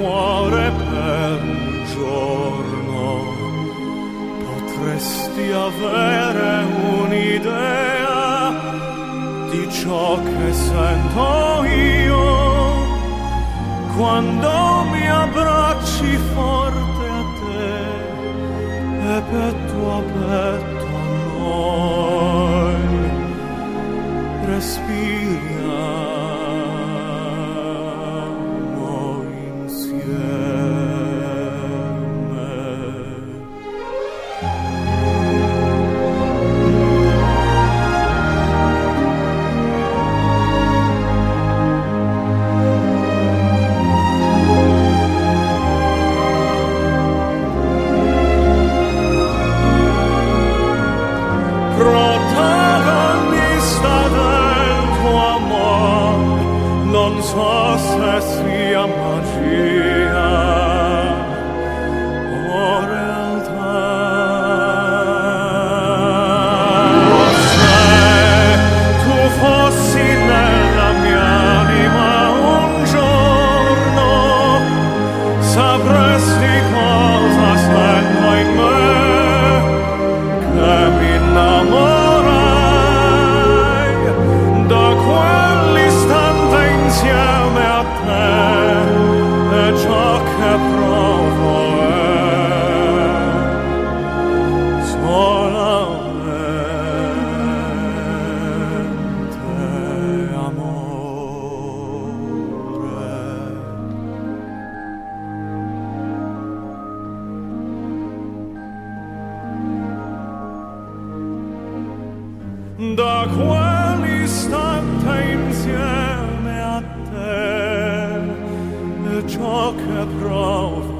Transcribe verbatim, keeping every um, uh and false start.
cuore per un giorno potresti avere un'idea di ciò che sento io quando mi abbracci forte a te e petto a petto a noi respiriamo insieme. Protagonista del tuo amor, non so se sia magia o realtà. Se tu fossi nella mia anima un giorno, sapresti cosa sento in me, che mi innamorai da quell'istante insieme a te, e ciò che provo è solamente amore. Da quell'istante insieme a te e ciò che provo